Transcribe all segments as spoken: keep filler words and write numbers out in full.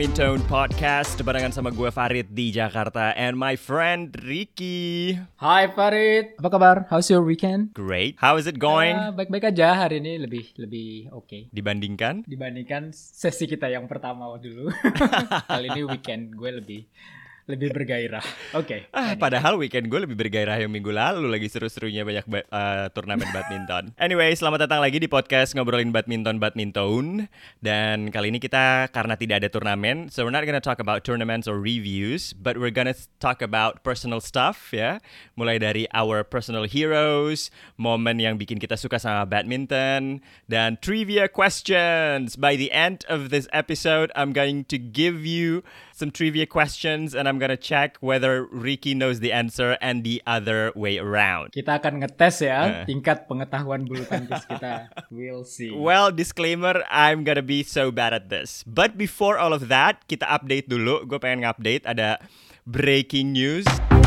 Badminton Podcast barengan sama gue Farid di Jakarta and my friend Ricky. Hai Farid, apa kabar? How's your weekend? Great. How is it going? Uh, baik-baik aja hari ini, lebih lebih oke. Okay. Dibandingkan? Dibandingkan sesi kita yang pertama dulu. Kali ini weekend gue lebih lebih bergairah. Oke. Okay, ah, padahal weekend gue lebih bergairah yang minggu lalu, lagi seru-serunya banyak ba- uh, turnamen badminton. Anyway, selamat datang lagi di podcast ngobrolin badminton badminton. Dan kali ini kita karena tidak ada turnamen, so we're not gonna talk about tournaments or reviews, but we're gonna talk about personal stuff ya. Mulai dari our personal heroes, momen yang bikin kita suka sama badminton, dan trivia questions. By the end of this episode, I'm going to give you some trivia questions and I'm gonna check whether Ricky knows the answer and the other way around. Kita akan ngetes ya uh. tingkat pengetahuan bulu tangkis kita. We'll see. Well, disclaimer, I'm gonna be so bad at this. But before all of that, kita update dulu. Gue pengen ngupdate, ada breaking news.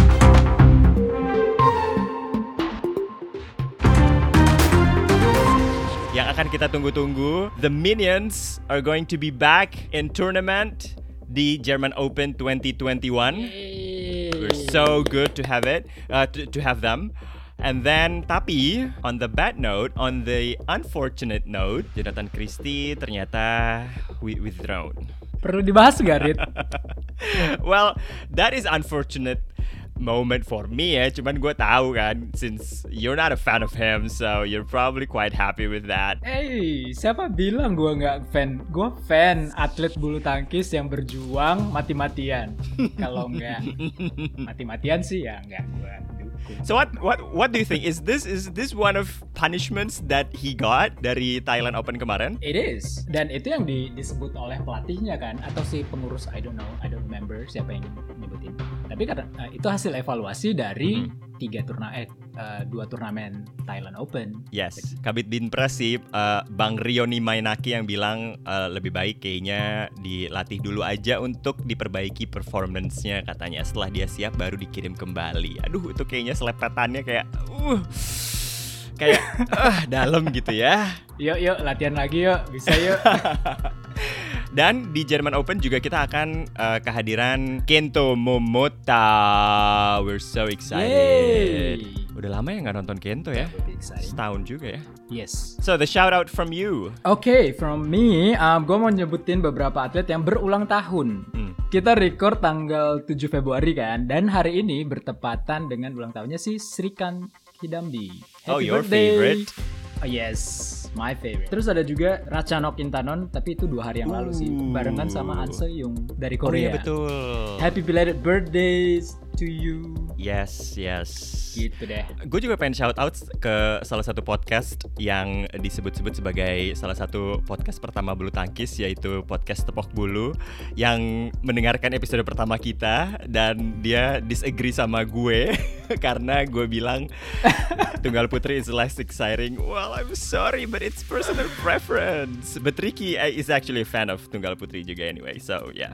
Yang akan kita tunggu-tunggu, the Minions are going to be back in tournament di German Open twenty twenty-one. Yay. We're so good to have it, uh, to, to have them. And then, tapi on the bad note, on the unfortunate note, Jonathan Christie ternyata withdrawn. Perlu dibahas gak, Rit? Well, that is unfortunate moment for me ya, cuman gue tahu kan, since you're not a fan of him, so you're probably quite happy with that. Hey, siapa bilang gue nggak fan? Gue fan atlet bulu tangkis yang berjuang mati-matian. Kalau nggak mati-matian sih ya nggak gue dukung. So what what what do you think? Is this is this one of punishments that he got dari Thailand Open kemarin? It is. Dan itu yang di, disebut oleh pelatihnya kan, atau si pengurus, I don't know, I don't remember siapa yang nyebutin. Tapi karena uh, itu hasil evaluasi dari mm-hmm. tiga turna eh uh, dua turnamen Thailand Open. Yes, Kabit Binpres sih uh, Bang Rioni Mainaki yang bilang uh, lebih baik kayaknya dilatih dulu aja untuk diperbaiki performance-nya katanya. Setelah dia siap baru dikirim kembali. Aduh, itu kayaknya selepetannya kayak uh kayak uh, dalam gitu ya. Yuk yuk latihan lagi yuk, bisa yuk. Dan di German Open juga kita akan uh, kehadiran Kento Momota. We're so excited. Yay. Udah lama ya nggak nonton Kento ya? Setahun juga ya. Yes. So the shout out from you. Oke, okay, from me, um, gue mau nyebutin beberapa atlet yang berulang tahun. Hmm. Kita record tanggal tujuh Februari kan, dan hari ini bertepatan dengan ulang tahunnya si Srikan Kidambi. Happy oh, your birthday. favorite? Oh yes, my favorite. Terus ada juga Ratchanok Intanon, tapi itu dua hari yang lalu sih, barengan sama An Se-young dari Korea. Oh iya betul. Happy belated birthdays to you. Yes, yes. Gitu deh. Gue juga pengen shout out ke salah satu podcast yang disebut-sebut sebagai salah satu podcast pertama bulu tangkis, yaitu podcast Tepok Bulu, yang mendengarkan episode pertama kita dan dia disagree sama gue karena gue bilang Tunggal Putri is less exciting. Well, I'm sorry, but it's personal preference. But Ricky is actually a fan of Tunggal Putri juga anyway, so yeah.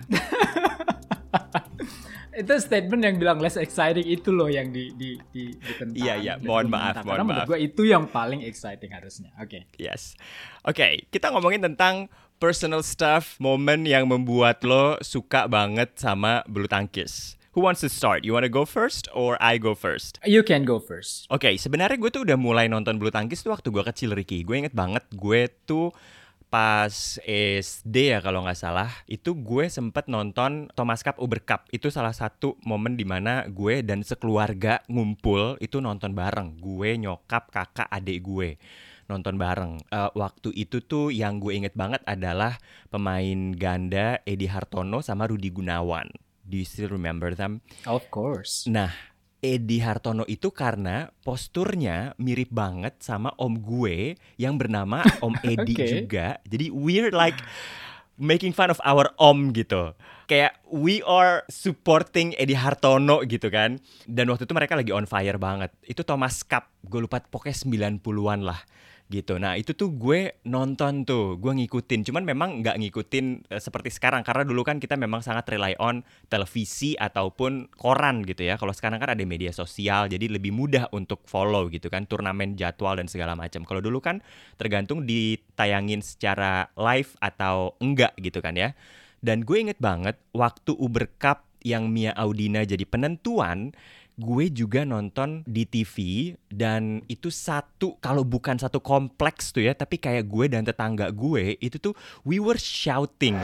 Itu statement yang bilang less exciting itu loh yang di di di ditentang. Iya iya, mohon maaf, mohon Karena maaf. menurut gue itu yang paling exciting harusnya. Oke. Okay. Yes. Oke, okay, kita ngomongin tentang personal stuff, momen yang membuat lo suka banget sama bulu tangkis. Who wants to start? You want to go first or I go first? You can go first. Oke, okay, sebenarnya gue tuh udah mulai nonton bulu tangkis tuh waktu gue kecil, Ricky. Gue inget banget gue tuh pas S D ya kalau nggak salah, itu gue sempet nonton Thomas Cup Uber Cup. Itu salah satu momen dimana gue dan sekeluarga ngumpul itu nonton bareng. Gue, nyokap, kakak, adik gue nonton bareng. Uh, waktu itu tuh yang gue inget banget adalah pemain ganda Edi Hartono sama Rudi Gunawan. Do you still remember them? Of course. Nah, Edi Hartono itu karena posturnya mirip banget sama om gue yang bernama Om Edi okay. juga. Jadi we're like making fun of our om gitu. Kayak we are supporting Edi Hartono gitu kan. Dan waktu itu mereka lagi on fire banget. Itu Thomas Cup, gue lupa pokoknya sembilan puluhan lah. gitu. Nah itu tuh gue nonton tuh, gue ngikutin. Cuman memang nggak ngikutin uh, seperti sekarang, karena dulu kan kita memang sangat rely on televisi ataupun koran gitu ya. Kalau sekarang kan ada media sosial, jadi lebih mudah untuk follow gitu kan, turnamen, jadwal dan segala macam. Kalau dulu kan tergantung ditayangin secara live atau enggak gitu kan ya. Dan gue inget banget waktu Uber Cup yang Mia Audina jadi penentuan, gue juga nonton di T V, dan itu satu, kalau bukan satu kompleks tuh ya, tapi kayak gue dan tetangga gue itu tuh we were shouting.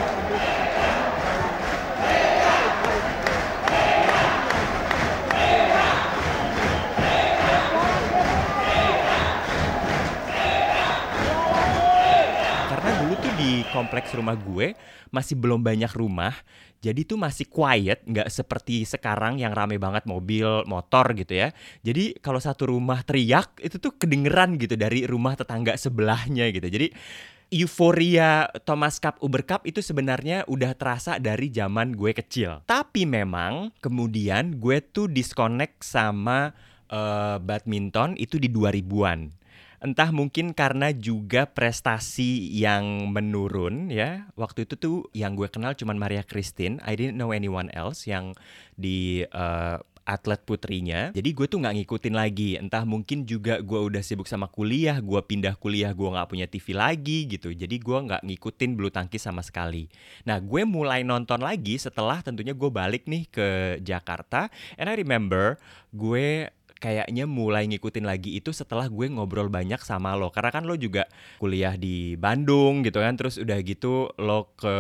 Karena dulu tuh di kompleks rumah gue masih belum banyak rumah, jadi tuh masih quiet, nggak seperti sekarang yang rame banget mobil, motor gitu ya. Jadi kalau satu rumah teriak, itu tuh kedengeran gitu dari rumah tetangga sebelahnya gitu. Jadi euforia Thomas Cup, Uber Cup itu sebenarnya udah terasa dari zaman gue kecil. Tapi memang kemudian gue tuh disconnect sama uh, badminton itu di dua ribuan. Entah mungkin karena juga prestasi yang menurun ya. Waktu itu tuh yang gue kenal cuman Maria Christine. I didn't know anyone else yang di uh, atlet putrinya. Jadi gue tuh gak ngikutin lagi. Entah mungkin juga gue udah sibuk sama kuliah, gue pindah kuliah, gue gak punya T V lagi gitu. Jadi gue gak ngikutin bulu tangkis sama sekali. Nah gue mulai nonton lagi setelah tentunya gue balik nih ke Jakarta. And I remember gue kayaknya mulai ngikutin lagi itu setelah gue ngobrol banyak sama lo. Karena kan lo juga kuliah di Bandung gitu kan. Terus udah gitu lo ke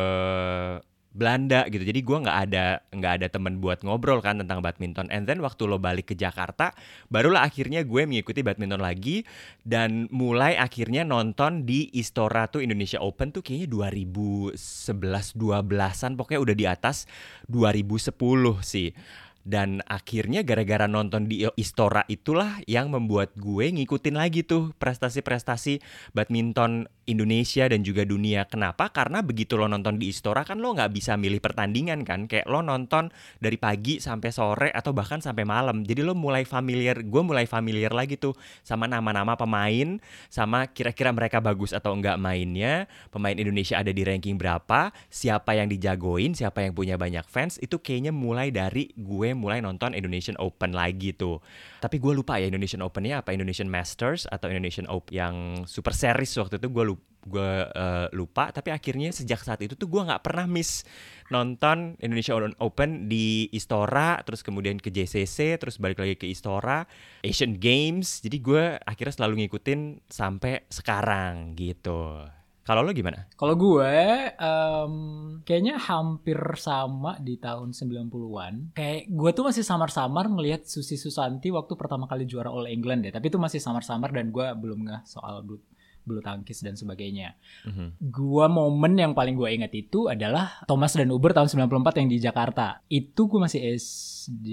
Belanda gitu. Jadi gue gak ada gak ada temen buat ngobrol kan tentang badminton. And then waktu lo balik ke Jakarta, barulah akhirnya gue mengikuti badminton lagi. Dan mulai akhirnya nonton di Istora tuh Indonesia Open tuh kayaknya dua ribu sebelas dua belasan. Pokoknya udah di atas dua ribu sepuluh sih. Dan akhirnya gara-gara nonton di Istora itulah yang membuat gue ngikutin lagi tuh prestasi-prestasi badminton Indonesia dan juga dunia. Kenapa? Karena begitu lo nonton di Istora kan lo gak bisa milih pertandingan kan. Kayak lo nonton dari pagi sampai sore atau bahkan sampai malam. Jadi lo mulai familiar, gue mulai familiar lagi tuh sama nama-nama pemain, sama kira-kira mereka bagus atau enggak mainnya, pemain Indonesia ada di ranking berapa, siapa yang dijagoin, siapa yang punya banyak fans. Itu kayaknya mulai dari gue mulai nonton Indonesian Open lagi tuh. Tapi gue lupa ya Indonesian Open-nya apa, Indonesian Masters atau Indonesian Open yang Super Series waktu itu gue lupa. gue uh, lupa, tapi akhirnya sejak saat itu tuh gue nggak pernah miss nonton Indonesia Open di Istora, terus kemudian ke J C C, terus balik lagi ke Istora, Asian Games. Jadi gue akhirnya selalu ngikutin sampai sekarang gitu. Kalau lo gimana? Kalau gue um, kayaknya hampir sama di tahun sembilan puluhan. Kayak gue tuh masih samar-samar ngelihat Susi Susanti waktu pertama kali juara All England ya. Tapi itu masih samar-samar dan gue belum ngeh soal bulu, bulu tangkis dan sebagainya. Mm-hmm. Gue momen yang paling gue ingat itu adalah Thomas dan Uber tahun sembilan puluh empat yang di Jakarta. Itu gue masih S D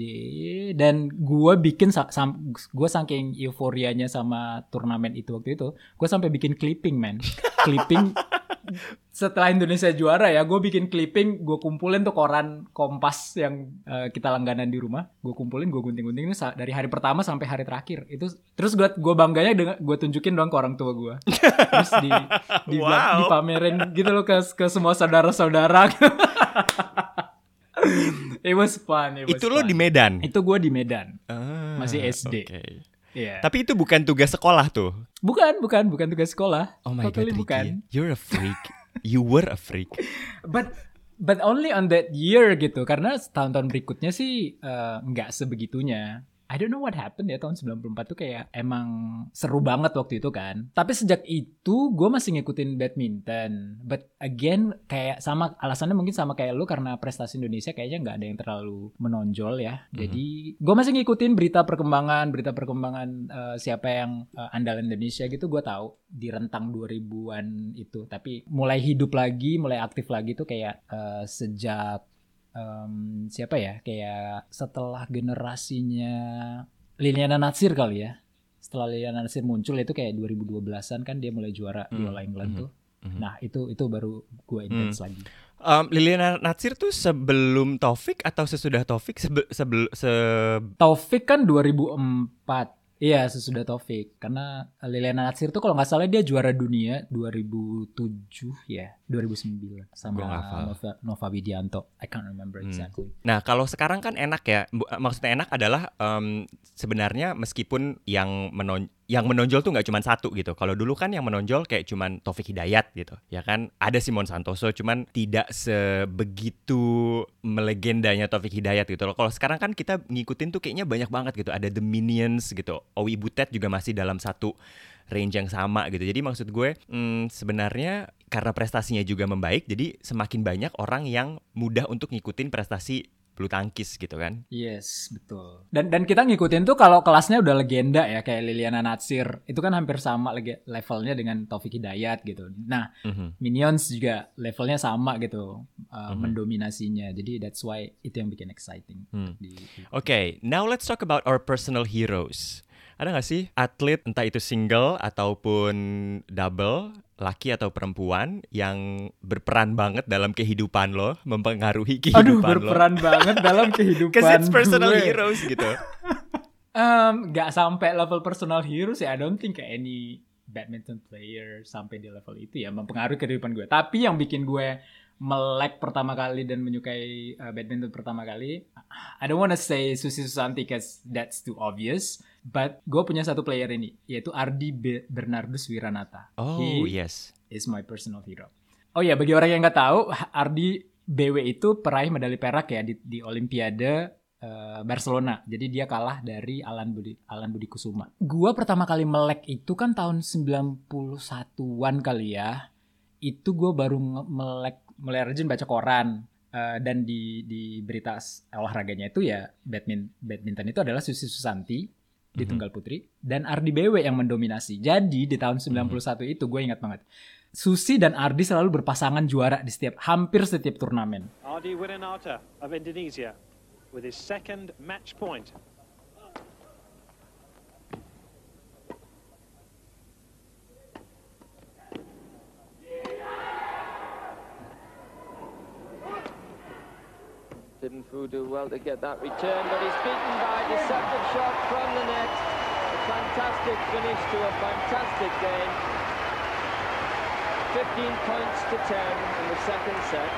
dan gue bikin sam- gue saking euforianya sama turnamen itu waktu itu, gue sampai bikin clipping man. Clipping setelah Indonesia juara ya, gue bikin clipping, gue kumpulin tuh koran Kompas yang uh, kita langganan di rumah, gue kumpulin, gue gunting-gunting ini dari hari pertama sampai hari terakhir itu. Terus gue gue bangganya dengan gue tunjukin dong ke orang tua gue, terus di di wow. dipamerin gitu loh ke ke semua saudara-saudara. It was fun. It was itu fun. Lo di Medan? Itu gue di Medan, ah, masih S D. Okay. Yeah. Tapi itu bukan tugas sekolah tuh? Bukan, bukan, bukan tugas sekolah. Oh my totally God, bukan. Ricky, you're a freak. You were a freak. But but only on that year gitu. Karena tahun-tahun berikutnya sih uh, nggak sebegitunya. I don't know what happened ya tahun sembilan puluh empat tuh kayak emang seru banget waktu itu kan. Tapi sejak itu gue masih ngikutin badminton. But again kayak sama alasannya mungkin sama kayak lu karena prestasi Indonesia kayaknya nggak ada yang terlalu menonjol ya. Mm-hmm. Jadi gue masih ngikutin berita perkembangan, berita perkembangan uh, siapa yang uh, andalan Indonesia gitu gue tahu di rentang dua ribuan itu. Tapi mulai hidup lagi, mulai aktif lagi tuh kayak uh, sejak Um, siapa ya kayak setelah generasinya Liliana Natsir kali ya, setelah Liliana Natsir muncul itu kayak dua ribu dua belasan kan dia mulai juara mm. di All England mm-hmm. tuh mm-hmm. Nah itu itu baru gue intens mm. lagi. um, Liliana Natsir tuh sebelum Taufik atau sesudah Taufik? Sebe- sebel- se- Taufik kan dua ribu empat Iya, sesudah Taufik. Karena Liliana Natsir tuh kalau nggak salah dia juara dunia dua ribu tujuh ya, dua ribu sembilan sama Nova, Nova Widianto. I can't remember exactly. Hmm. Nah, kalau sekarang kan enak ya. Maksudnya enak adalah um, sebenarnya meskipun yang menon yang menonjol tuh nggak cuma satu gitu. Kalau dulu kan yang menonjol kayak cuman Taufik Hidayat gitu, ya kan. Ada Simon Santoso, cuman tidak sebegitu melegendanya Taufik Hidayat gitu loh. Kalau sekarang kan kita ngikutin tuh kayaknya banyak banget gitu. Ada The Minions gitu. Owi Butet juga masih dalam satu range yang sama gitu. Jadi maksud gue hmm, sebenarnya karena prestasinya juga membaik, jadi semakin banyak orang yang mudah untuk ngikutin prestasi bulu tangkis gitu kan. Yes, betul. Dan dan kita ngikutin tuh kalau kelasnya udah legenda ya, kayak Liliana Natsir. Itu kan hampir sama levelnya dengan Taufik Hidayat gitu. Nah, mm-hmm. Minions juga levelnya sama gitu, uh, mm-hmm. mendominasinya. Jadi that's why itu yang bikin exciting. Mm. Oke, okay, now let's talk about our personal heroes. Ada gak sih atlet, entah itu single ataupun double, laki atau perempuan, yang berperan banget dalam kehidupan lo, mempengaruhi kehidupan Aduh, lo? Aduh, berperan banget dalam kehidupan Because it's personal gue. heroes gitu. um, gak sampai level personal heroes ya. I don't think any badminton player sampai di level itu ya mempengaruhi kehidupan gue. Tapi yang bikin gue melek pertama kali dan menyukai uh, badminton pertama kali, I don't wanna say Susi Susanti because that's too obvious, but gue punya satu player ini, yaitu Ardi Be- Bernardus Wiranata. Oh, He yes. is my personal hero. Oh ya, bagi orang yang nggak tahu, Ardi B W itu peraih medali perak ya di, di Olimpiade uh, Barcelona. Jadi dia kalah dari Alan Budi Alan Budi Kusuma. Gue pertama kali melek itu kan tahun sembilan puluh satuan kali ya. Itu gue baru melek mulai rajin baca koran, uh, dan di di berita olahraganya itu ya badminton badminton itu adalah Susi Susanti mm-hmm. di tunggal putri dan Ardi B W yang mendominasi. Jadi di tahun sembilan puluh satu mm-hmm. itu gue ingat banget, Susi dan Ardi selalu berpasangan juara di setiap hampir setiap turnamen. Ardi Wiranata of Indonesia with his second match point. Didn't Fu do well to get that return, but he's beaten by a deceptive shot from the net. A fantastic finish to a fantastic game. fifteen points to ten in the second set.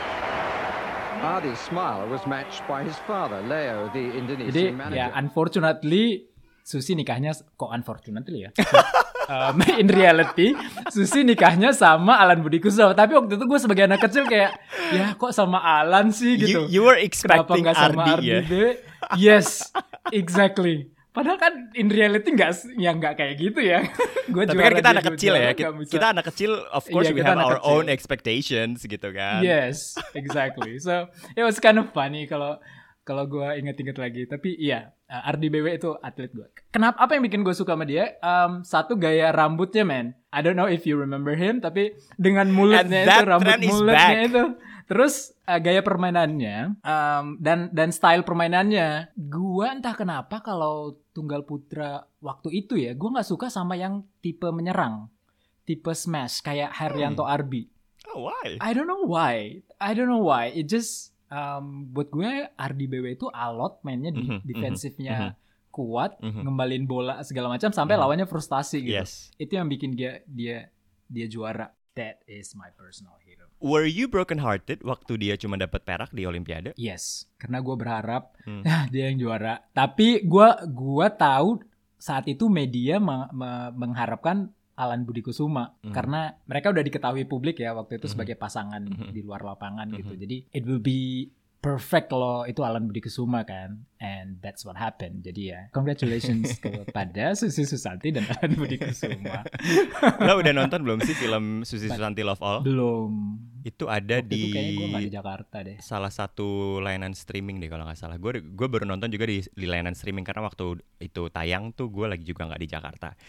Ardi's smile was matched by his father, Leo, the Indonesian Jadi, manager. ya unfortunately Susi nikahnya kok unfortunately ya. um, in reality Susi nikahnya sama Alan Budi Kusuma. Tapi waktu itu gue sebagai anak kecil kayak, ya kok sama Alan sih gitu. You, you were expecting Kenapa gak sama Ardi, Ardi ya? Yes, exactly. Padahal kan in reality nggak, ya nggak kayak gitu ya. Gua Tapi kan kita anak kecil ya. Kita, kita anak kecil, of course yeah, we have our kecil. own expectations gitu kan. Yes, exactly. So it was kind of funny kalau kalau gue inget-inget lagi. Tapi iya, Ardi B W itu atlet gue. Kenapa? Apa yang bikin gue suka sama dia? Um, satu, gaya rambutnya, man. I don't know if you remember him, tapi dengan mulutnya itu, rambut mulutnya itu. Terus uh, gaya permainannya um, dan dan style permainannya, gue entah kenapa kalau tunggal putra waktu itu ya, gue nggak suka sama yang tipe menyerang, tipe smash kayak Haryanto hmm. Arbi. Oh, why? I don't know why. I don't know why. It just um, buat gue Ardi B W itu alot mainnya, di, mm-hmm, defensifnya mm-hmm. kuat, mm-hmm. ngembalin bola segala macam sampai mm-hmm. lawannya frustasi gitu. Yes. Itu yang bikin dia dia dia juara. That is my personal hero. Were you broken hearted waktu dia cuma dapat perak di Olimpiade? Yes, karena gue berharap hmm. dia yang juara. Tapi gue gue tahu saat itu media me- me- mengharapkan Alan Budi Kusuma hmm. karena mereka udah diketahui publik ya waktu itu hmm. sebagai pasangan hmm. di luar lapangan hmm. gitu. Jadi it will be perfect kalau itu Alan Budi Kusuma kan, and that's what happened. Jadi ya, congratulations kepada Susi Susanti dan Alan Budi Kusuma. Lo udah nonton belum sih film Susi Susanti Love All? Belum. Itu ada waktu di, itu kayaknya gue nggak di Jakarta deh. Salah satu layanan streaming deh kalau nggak salah. Gue gue baru nonton juga di, di layanan streaming karena waktu itu tayang tuh gue lagi juga nggak di Jakarta.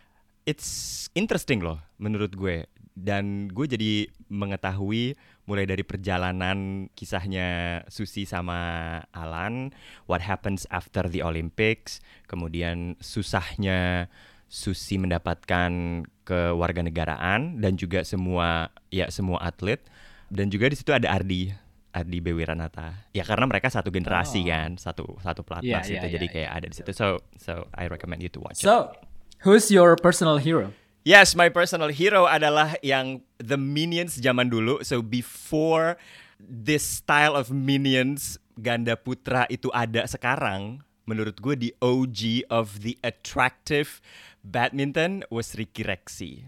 It's interesting loh menurut gue. Dan gue jadi mengetahui mulai dari perjalanan kisahnya Susi sama Alan, what happens after the Olympics, kemudian susahnya Susi mendapatkan kewarganegaraan dan juga semua ya semua atlet, dan juga di situ ada Ardi. Adi Bewiranata. Ya karena mereka satu generasi Oh. kan, satu satu Iya, pelatnas iya, itu iya, jadi iya. kayak ada di situ. So so I recommend you to watch it. So, who's your personal hero? Yes, my personal hero adalah yang the Minions zaman dulu. So before this style of Minions ganda putra itu ada sekarang, menurut gue the O G of the attractive badminton was Ricky Rexy.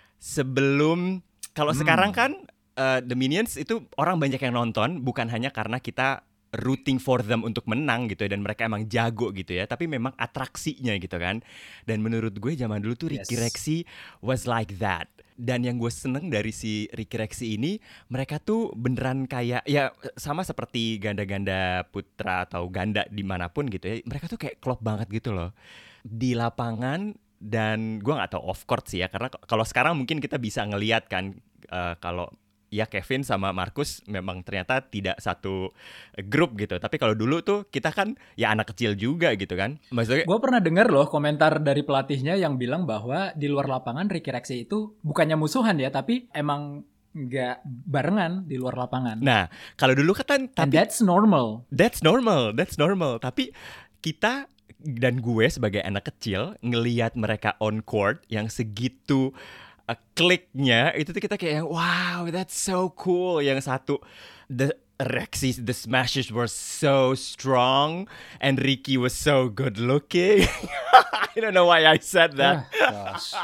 Sebelum kalau Hmm. sekarang kan uh, the Minions itu orang banyak yang nonton bukan hanya karena kita rooting for them untuk menang gitu ya, dan mereka emang jago gitu ya, tapi memang atraksinya gitu kan. Dan menurut gue zaman dulu tuh Ricky Yes. Rexy was like that. Dan yang gue seneng dari si Ricky Rexy ini, mereka tuh beneran kayak ya sama seperti ganda-ganda putra atau ganda dimanapun gitu ya, mereka tuh kayak klop banget gitu loh di lapangan. Dan gue nggak tahu off court sih ya, karena k- kalau sekarang mungkin kita bisa ngelihat kan uh, kalau ya Kevin sama Marcus memang ternyata tidak satu grup gitu. Tapi kalau dulu tuh kita kan ya anak kecil juga gitu kan. Maksudnya Gue pernah dengar loh komentar dari pelatihnya yang bilang bahwa di luar lapangan Ricky Rexy itu bukannya musuhan ya, tapi emang nggak barengan di luar lapangan. nah, kalau dulu kan And tapi that's normal. that's normal, that's normal. Tapi kita dan gue sebagai anak kecil ngelihat mereka on court yang segitu uh, kliknya itu tuh kita kayak wow, that's so cool. Yang satu the Rexy, the smashes were so strong and Ricky was so good looking. I don't know why I said that. Ah, gosh.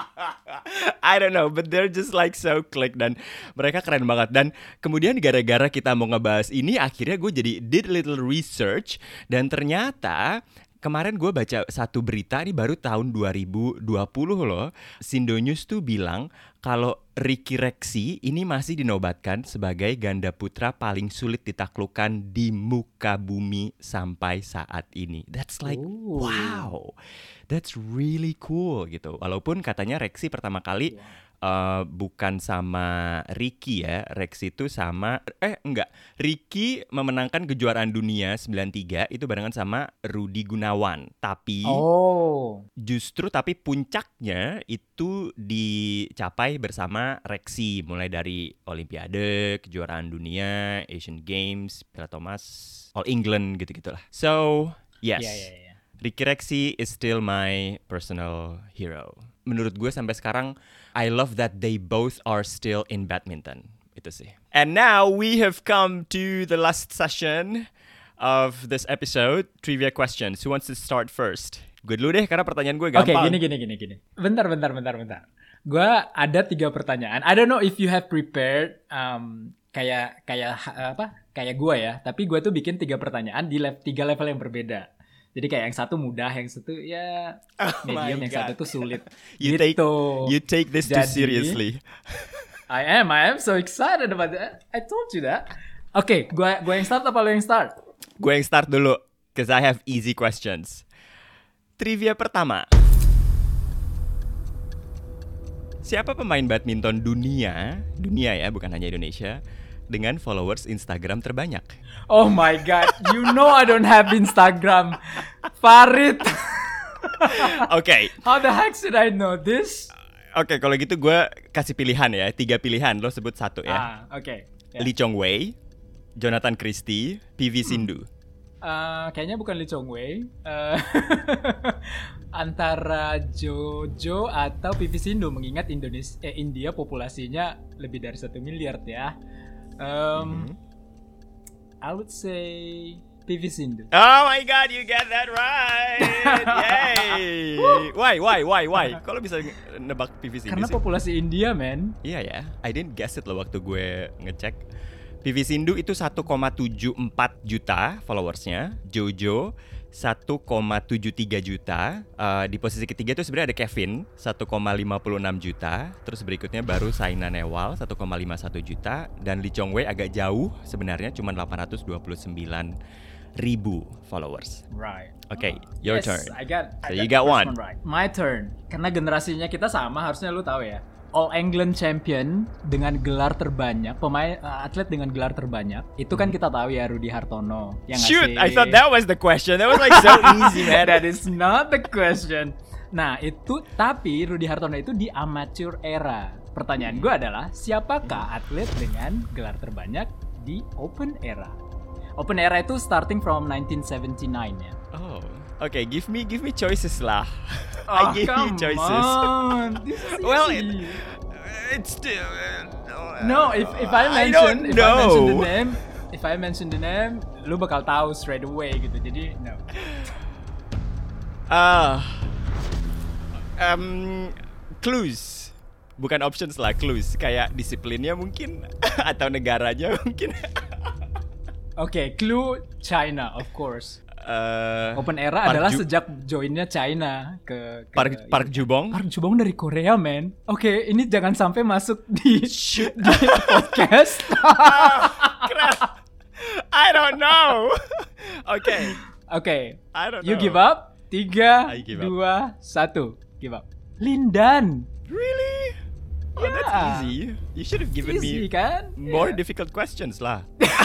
I don't know, but they're just like so click dan mereka keren banget. Dan kemudian gara-gara kita mau ngebahas ini, akhirnya gue jadi did a little research dan ternyata kemarin gue baca satu berita ini baru tahun dua ribu dua puluh loh. Sindo News tuh bilang kalau Ricky Rexy ini masih dinobatkan sebagai ganda putra paling sulit ditaklukkan di muka bumi sampai saat ini. That's like Ooh. wow. That's really cool gitu. Walaupun katanya Rexy pertama kali uh, bukan sama Ricky ya. Rexy itu sama eh enggak. Ricky memenangkan kejuaraan dunia sembilan tiga itu barengan sama Rudi Gunawan. Tapi Oh. justru tapi puncaknya itu dicapai bersama Rexy, mulai dari Olimpiade, kejuaraan dunia, Asian Games, Piala Thomas, All England gitu-gitulah. So, yes. Iya, iya, iya. Ricky Rexy is still my personal hero. Menurut gue sampai sekarang, I love that they both are still in badminton. Itu sih. And now we have come to the last session of this episode, trivia questions. Who wants to start first? Gue dulu deh, karena pertanyaan gue Oke, gampang. gini, gini, gini, gini. Bentar, bentar, bentar, bentar. Gue ada tiga pertanyaan. I don't know if you have prepared um, kayak kayak ha- apa? Kayak gue ya. Tapi gue tuh bikin tiga pertanyaan di lev- tiga level yang berbeda. Jadi kayak yang satu mudah, yang satu ya Oh medium, my yang God. satu tuh sulit. You gitu. take you take this too Jadi- seriously. I am, I am so excited about that. I told you that. Oke, gue gue yang start apa lo yang start? Gue yang start dulu, cause I have easy questions. Trivia pertama. Siapa pemain badminton dunia, dunia ya, bukan hanya Indonesia, dengan followers Instagram terbanyak? Oh my god, you know I don't have Instagram. Farid. Oke, How the heck should I know this? oke kalau gitu gue kasih pilihan ya, tiga pilihan, lo sebut satu ya. Ah, oke. Ya. Lee Chong Wei, Jonathan Christie, P V Sindhu. Eh, kayaknya bukan Lee Chong Wei. Eh, antara Jojo atau P V Sindhu, mengingat Indonesia eh, India populasinya lebih dari satu miliar ya. Um, I would say P V Sindhu. Oh my god, you get that right! Yay! Why, why, why, why? Kalau bisa nebak P V Sindhu Karena sih? populasi India, man. Iya ya, I didn't guess it loh waktu gue ngecek. P V Sindhu itu satu koma tujuh empat juta followersnya, Jojo satu koma tujuh tiga juta. Uh, di posisi ketiga itu sebenarnya ada Kevin satu koma lima enam juta. Terus berikutnya baru Saina Nehwal satu koma lima satu juta. Dan Lee Chong Wei agak jauh sebenarnya, cuma delapan ratus dua puluh sembilan ribu followers. Right. Okay, your Yes, turn. I got. I So you got got the one. first right. My turn. Karena generasinya kita sama, harusnya lu tahu ya. All England champion dengan gelar terbanyak, pemain uh, atlet dengan gelar terbanyak. Itu kan kita tahu ya, Rudi Hartono. Yang Shoot, ngasih- I thought that was the question. That was like so easy, man. That is not the question. Nah, itu tapi Rudi Hartono itu di amateur era. Pertanyaan gue adalah, siapakah atlet dengan gelar terbanyak di Open Era. Open Era itu starting from nineteen seventy-nine ya. Oh, okay. Give me, give me choices lah. Oh, I give you choices. On. This is Well, easy. it, it's still. Uh, No, if if I I mention don't if I mention the know. name, if I mention the name, lu bakal tahu straight away gitu. Jadi no. Ah, um, clues, bukan options lah, clues. Kayak disiplinnya mungkin atau negaranya mungkin. Oke, okay, clue China of course. Uh, Open Era Park adalah Ju- sejak joinnya China ke, ke Park Park Jubong. Park Jubong dari Korea, man. Oke, okay, ini jangan sampai masuk di di podcast. Keren. I don't know. Oke. Oke, okay. I don't you know. give up. Tiga, I give up. dua, satu, give up. Lindan. Really? Oh, Yeah. that's easy. You should have given Easy me kan? more Yeah. difficult questions lah.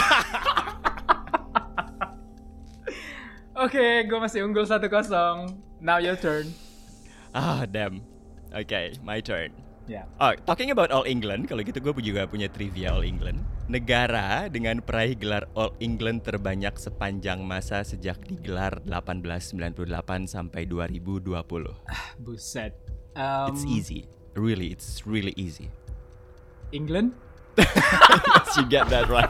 Oke, okay, gue masih unggul satu kosong. Now your turn. Ah, damn. Okay, my turn. Ya. Yeah. Oh, talking about All England, kalau gitu gue juga punya trivia All England. Negara dengan peraih gelar All England terbanyak sepanjang masa sejak digelar delapan belas sembilan puluh delapan sampai dua ribu dua puluh. Buset. Um, It's easy. Really, it's really easy. England? Yes, you get that right.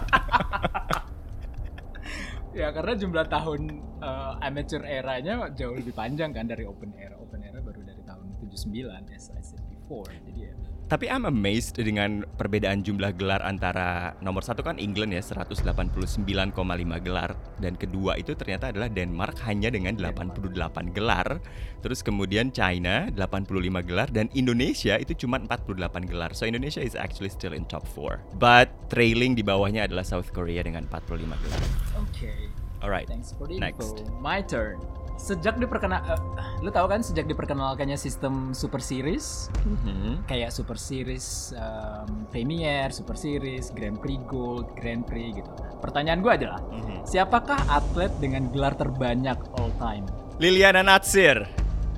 Ya karena jumlah tahun uh, amateur eranya jauh lebih panjang kan dari Open Era. Open Era baru dari tahun tujuh puluh sembilan as I said before. Jadi ya. Tapi I'm amazed dengan perbedaan jumlah gelar antara nomor satu kan England ya seratus delapan puluh sembilan koma lima gelar, dan kedua itu ternyata adalah Denmark hanya dengan delapan puluh delapan gelar. Terus kemudian China delapan puluh lima gelar dan Indonesia itu cuma empat puluh delapan gelar. So Indonesia is actually still in top four. But trailing di bawahnya adalah South Korea dengan empat puluh lima gelar. Oke. Okay. Alright. Thanks for the Next. info. My turn. Sejak diperkenal, uh, lu tahu kan sejak diperkenalkannya sistem Super Series, Mm-hmm. kayak Super Series um, Premier, Super Series, Grand Prix Gold, Grand Prix gitu. Pertanyaan gue adalah, Mm-hmm. siapakah atlet dengan gelar terbanyak all time? Liliana Natsir.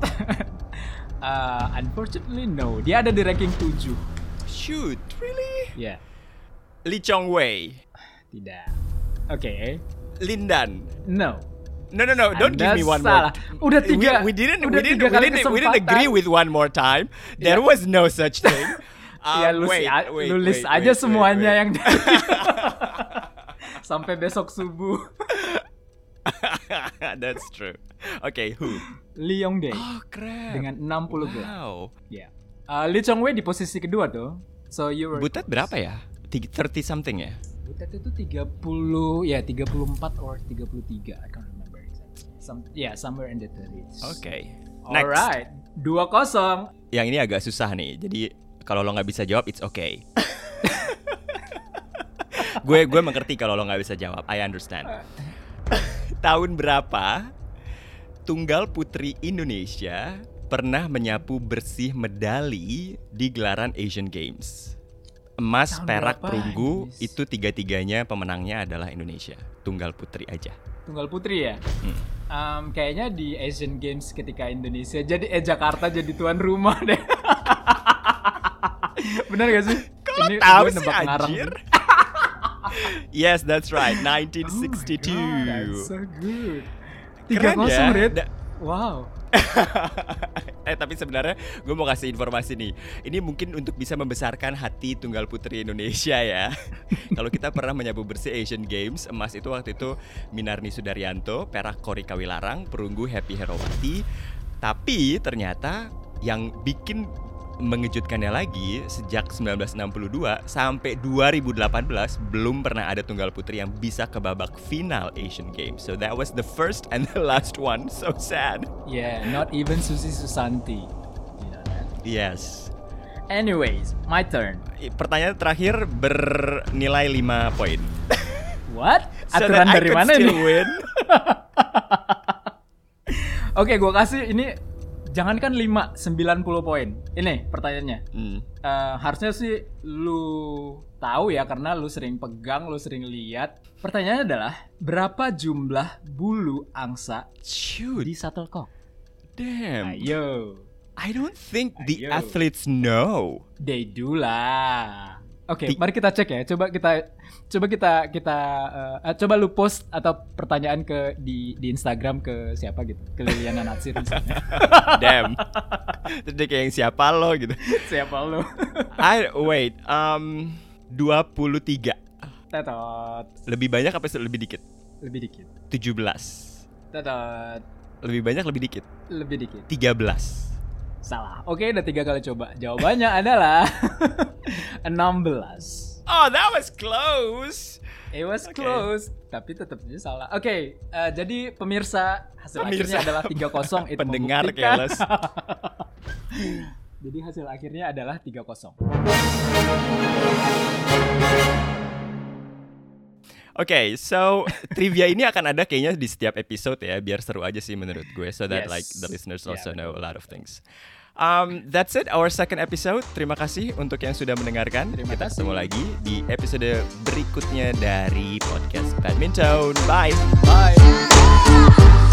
uh, unfortunately no, dia ada di ranking tujuh. Shoot, really? Ya, yeah. Lee Chong Wei. Tidak. Oke, okay. Lindan. No. No no no, don't Anda give me one salah. more. Udah tiga. We, we didn't udah we didn't tiga we kali didn't, we didn't kesempatan. agree with one more time. There Yeah. was no such thing. Ya Um, lu, wait, si- wait, lu list wait, aja wait, semuanya wait, yang sampai besok subuh. wait. That's true. Okay, who? Lee Yong-dae Oh, keren. dengan enam puluh gelar. Wow. Ya. Uh, Lee Chong-wei di posisi kedua tuh. So you were Butet berapa ya? thirty something ya? Butet itu tiga puluh, ya tiga puluh empat or tiga puluh tiga. I can't remember exactly. Some yeah, somewhere in the thirties. Okay. Next. Alright. dua kosong. Yang ini agak susah nih. Jadi kalau lo nggak bisa jawab, it's okay. gue gue mengerti kalau lo nggak bisa jawab. I understand. Tahun berapa tunggal putri Indonesia pernah menyapu bersih medali di gelaran Asian Games? Emas, Tahun perak, berapa? perunggu, Yes. itu tiga-tiganya pemenangnya adalah Indonesia. Tunggal putri aja. Tunggal putri ya. Hmm. Um, kayaknya di Asian Games ketika Indonesia jadi eh Jakarta jadi tuan rumah deh. Benar gak sih? Kok Ini tahu gue sih nebak ngarang. anjir? Yes, that's right. nineteen sixty-two. Oh my God, that's so good. Tiga Keren kosong, ya? Red. Da- Wow. eh tapi sebenarnya gue mau kasih informasi nih. Ini mungkin untuk bisa membesarkan hati tunggal putri Indonesia ya. Kalau kita pernah menyapu bersih Asian Games, emas itu waktu itu Minarni Sudaryanto, perak Kori Kawilarang, perunggu Happy Herawati. Tapi ternyata yang bikin mengejutkannya lagi, sejak sembilan belas enam puluh dua sampai dua ribu delapan belas belum pernah ada tunggal putri yang bisa ke babak final Asian Games. So that was the first and the last one. So sad. Yeah, not even Susi Susanti. You know that? Yes. Anyways, my turn. Pertanyaan terakhir bernilai lima poin. What? So Aturan that I dari could mana still ini? win. Oke, gue kasih ini. Jangankan lima, sembilan puluh poin. Ini pertanyaannya. Hmm. Uh, harusnya sih lu tahu ya karena lu sering pegang, lu sering lihat. Pertanyaannya adalah berapa jumlah bulu angsa Shoot. di shuttlecock? Damn. Ayo. I don't think the Ayo. athletes know. They do lah. Oke, okay, mari kita cek ya. Coba kita coba kita kita uh, coba lu post atau pertanyaan ke di di Instagram ke siapa gitu. Ke Liliana Natsir misalnya. Damn. Terus dia kayak yang siapa lo gitu. Siapa lo? I wait, um dua puluh tiga. Tetot. Lebih banyak apa lebih dikit? Lebih dikit. tujuh belas. Tetot. Lebih banyak lebih dikit? Lebih dikit. tiga belas. Salah. Oke, udah tiga kali coba. Jawabannya adalah enam belas. Oh, that was close. It was okay. close, tapi tetap aja salah. Oke, okay, uh, jadi pemirsa hasil pemirsa. akhirnya adalah tiga kosong. Itu pendengar membuktikan. keles. Jadi hasil akhirnya adalah tiga kosong. Oke, okay, so trivia ini akan ada kayaknya di setiap episode ya, biar seru aja sih menurut gue, so that yes. like the listeners also yeah, know a lot of things. Um, that's it, our second episode. Terima kasih untuk yang sudah mendengarkan. Terima Kita kasih. ketemu lagi di episode berikutnya dari podcast Badminton. Bye. Bye.